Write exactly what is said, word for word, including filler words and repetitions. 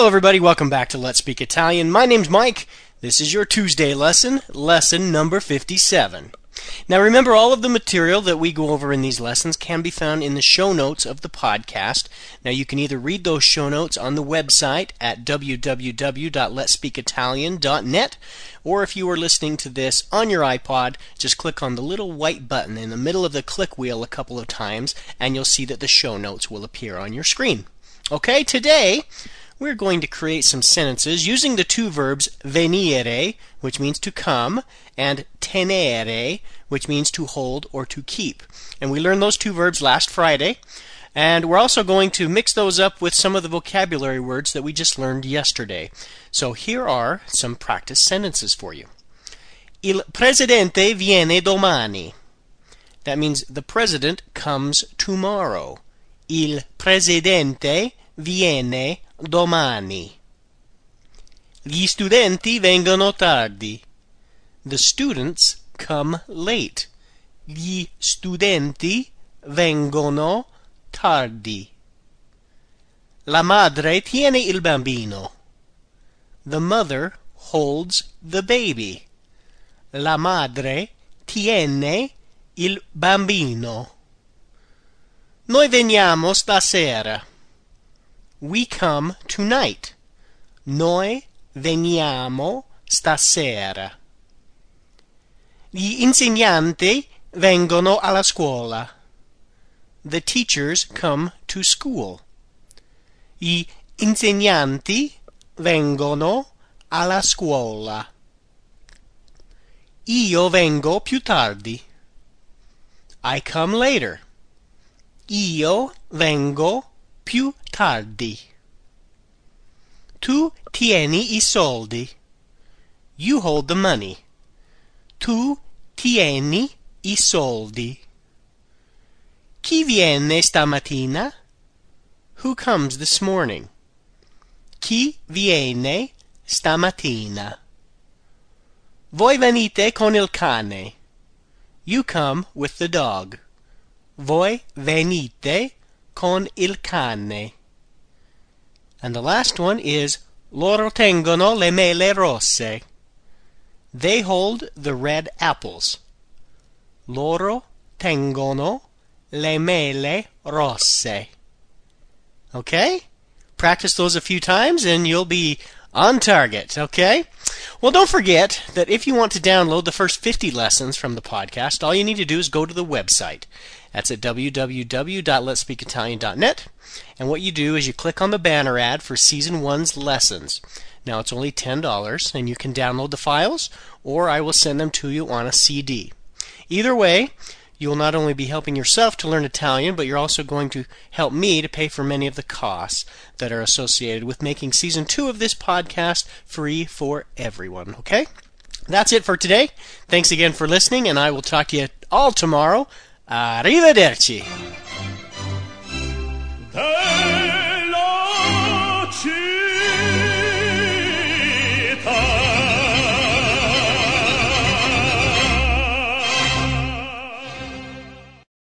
everybody. Welcome back to Let's Speak Italian. My name's Mike. This is your Tuesday lesson, lesson number fifty-seven. Now remember, all of the material that we go over in these lessons can be found in the show notes of the podcast. Now you can either read those show notes on the website at w w w dot lets speak italian dot net, or if you are listening to this on your iPod, just click on the little white button in the middle of the click wheel a couple of times, and you'll see that the show notes will appear on your screen. Okay, today we're going to create some sentences using the two verbs venire, which means to come, and tenere, which means to hold or to keep. And we learned those two verbs last Friday, and we're also going to mix those up with some of the vocabulary words that we just learned yesterday. So here are some practice sentences for you. Il presidente viene domani. That means the president comes tomorrow. Il presidente viene domani. Gli studenti vengono tardi. The students come late. Gli studenti vengono tardi. La madre tiene il bambino. The mother holds the baby. La madre tiene il bambino. Noi veniamo stasera. We come tonight. Noi veniamo stasera. Gli insegnanti vengono alla scuola. The teachers come to school. Gli insegnanti vengono alla scuola. Io vengo più tardi. I come later. Io vengo più tardi. Tu tieni i soldi. You hold the money. Tu tieni i soldi. Chi viene stamattina? Who comes this morning? Chi viene stamattina? Voi venite con il cane. You come with the dog. Voi venite con il cane. And the last one is loro tengono le mele rosse. They hold the red apples. Loro tengono le mele rosse. Okay? Practice those a few times and you'll be on target, okay? Well, don't forget that if you want to download the first fifty lessons from the podcast, all you need to do is go to the website. That's at w w w dot lets speak italian dot net. And what you do is you click on the banner ad for Season one's lessons. Now, it's only ten dollars, and you can download the files, or I will send them to you on a C D. Either way, you will not only be helping yourself to learn Italian, but you're also going to help me to pay for many of the costs that are associated with making Season two of this podcast free for everyone, okay? That's it for today. Thanks again for listening, and I will talk to you all tomorrow. Arrivederci!